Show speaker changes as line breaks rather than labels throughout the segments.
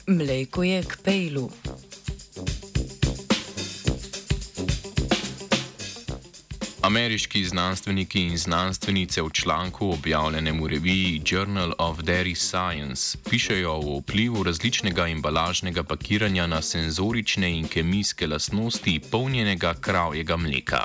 Mleko je k pejlu.
Ameriški znanstveniki in znanstvenice v članku objavljenem v reviji Journal of Dairy Science pišejo o vplivu različnega embalažnega pakiranja na senzorične in kemijske lastnosti polnjenega kravjega mleka.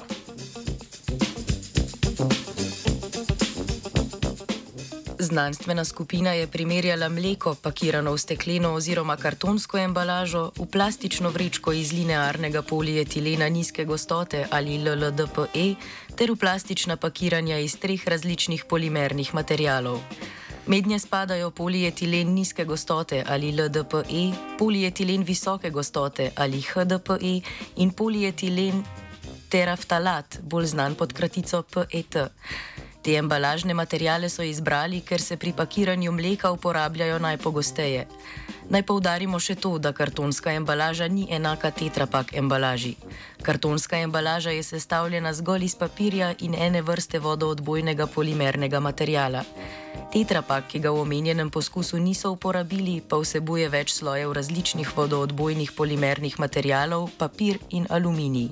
Znanstvena skupina je primerjala mleko, pakirano v stekleno oziroma kartonsko embalažo, v plastično vrečko iz linearnega polietilena nizke gostote ali LLDPE ter v plastična pakiranja iz 3 različnih polimernih materialov. Mednje spadajo polietilen nizke gostote ali LDPE, polietilen visoke gostote ali HDPE in polietilen teraftalat, bolj znan pod kratico PET. Te embalažne materijale so izbrali, ker se pri pakiranju mleka uporabljajo najpogosteje. Naj poudarimo še to, da kartonska embalaža ni enaka tetrapak embalaži. Kartonska embalaža je sestavljena zgolj iz papirja in ene vrste vodoodbojnega polimernega materijala. Tetrapak, ki ga v omenjenem poskusu niso uporabili, pa vsebuje več slojev različnih vodoodbojnih polimernih materijalov, papir in aluminij.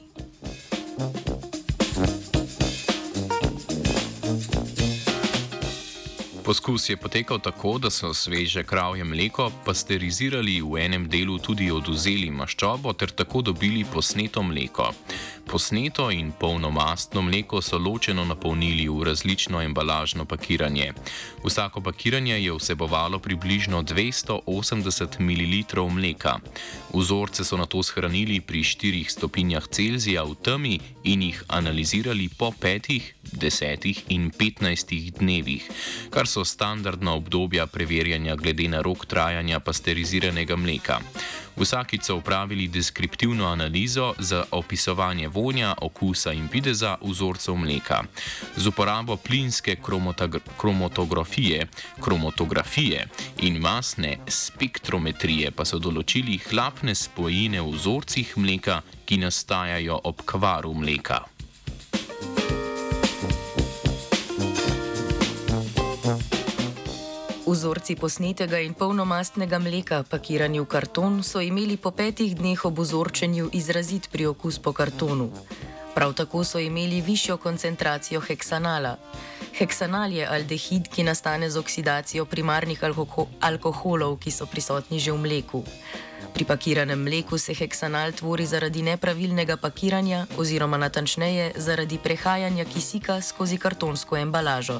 Poskus je potekal tako, da so sveže kravje mleko pasterizirali, v enem delu tudi odvzeli maščobo ter tako dobili posneto mleko. Posneto in polnomastno mleko so ločeno napolnili v različno embalažno pakiranje. Vsako pakiranje je vsebovalo približno 280 ml mleka. Vzorce so nato shranili pri 4 stopinjah Celzija v temi in jih analizirali po 5, 10 in 15 dnevih, kar so standardna obdobja preverjanja glede na rok trajanja pasteriziranega mleka. Vsakič so upravili deskriptivno analizo za opisovanje vonja, okusa in videza vzorcev mleka. Z uporabo plinske kromatografije in masne spektrometrije pa so določili hlapne spojine v vzorcih mleka, ki nastajajo ob kvaru mleka.
Vzorci posnetega in polnomastnega mleka, pakirani v karton, so imeli po 5 dneh ob vzorčenju izrazit priokus po kartonu. Prav tako so imeli višjo koncentracijo heksanala. Heksanal je aldehid, ki nastane z oksidacijo primarnih alkoholov, ki so prisotni že v mleku. Pri pakiranem mleku se heksanal tvori zaradi nepravilnega pakiranja oziroma natančneje zaradi prehajanja kisika skozi kartonsko embalažo.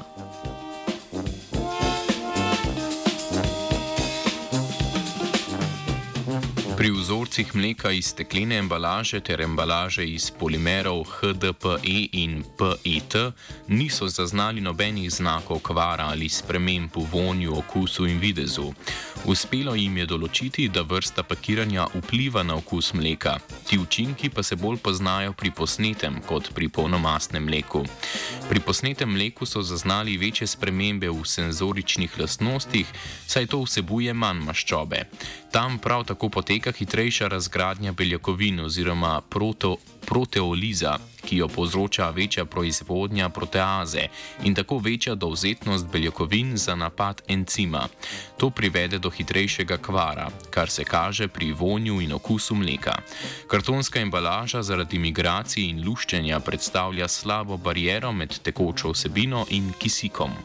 Pri vzorcih mleka iz steklene embalaže ter embalaže iz polimerov HDPE in PET niso zaznali nobenih znakov kvara ali sprememb v vonju, okusu in videzu. Uspelo jim je določiti, da vrsta pakiranja vpliva na okus mleka. Ti učinki pa se bolj poznajo pri posnetem kot pri polnomastnem mleku. Pri posnetem mleku so zaznali večje spremembe v senzoričnih lastnostih, saj to vsebuje manj maščobe. Tam prav tako poteka hitrejša razgradnja beljakovin oziroma proteoliza, ki jo povzroča večja proizvodnja proteaze in tako večja dovzetnost beljakovin za napad encima. To privede do hitrejšega kvara, kar se kaže pri vonju in okusu mleka. Kartonska embalaža zaradi migracij in luščenja predstavlja slabo bariero med tekočo vsebino in kisikom.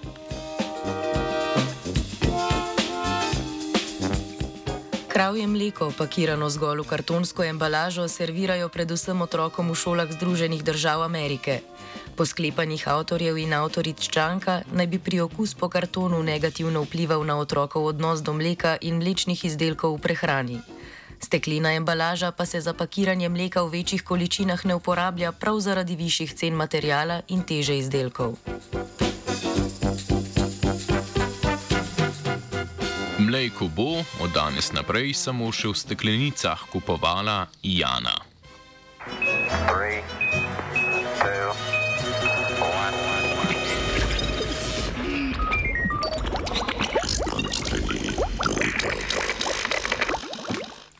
Kravje mleko, pakirano zgolj v kartonsko embalažo, servirajo predvsem otrokom v šolah Združenih držav Amerike. Po sklepanjih avtorjev in avtoric članka naj bi priokus po kartonu negativno vplival na otrokov odnos do mleka in mlečnih izdelkov v prehrani. Steklena embalaža pa se za pakiranje mleka v večjih količinah ne uporablja prav zaradi višjih cen materijala in teže izdelkov.
Mleko bo od danes naprej samo še v steklenicah kupovala Jana.
3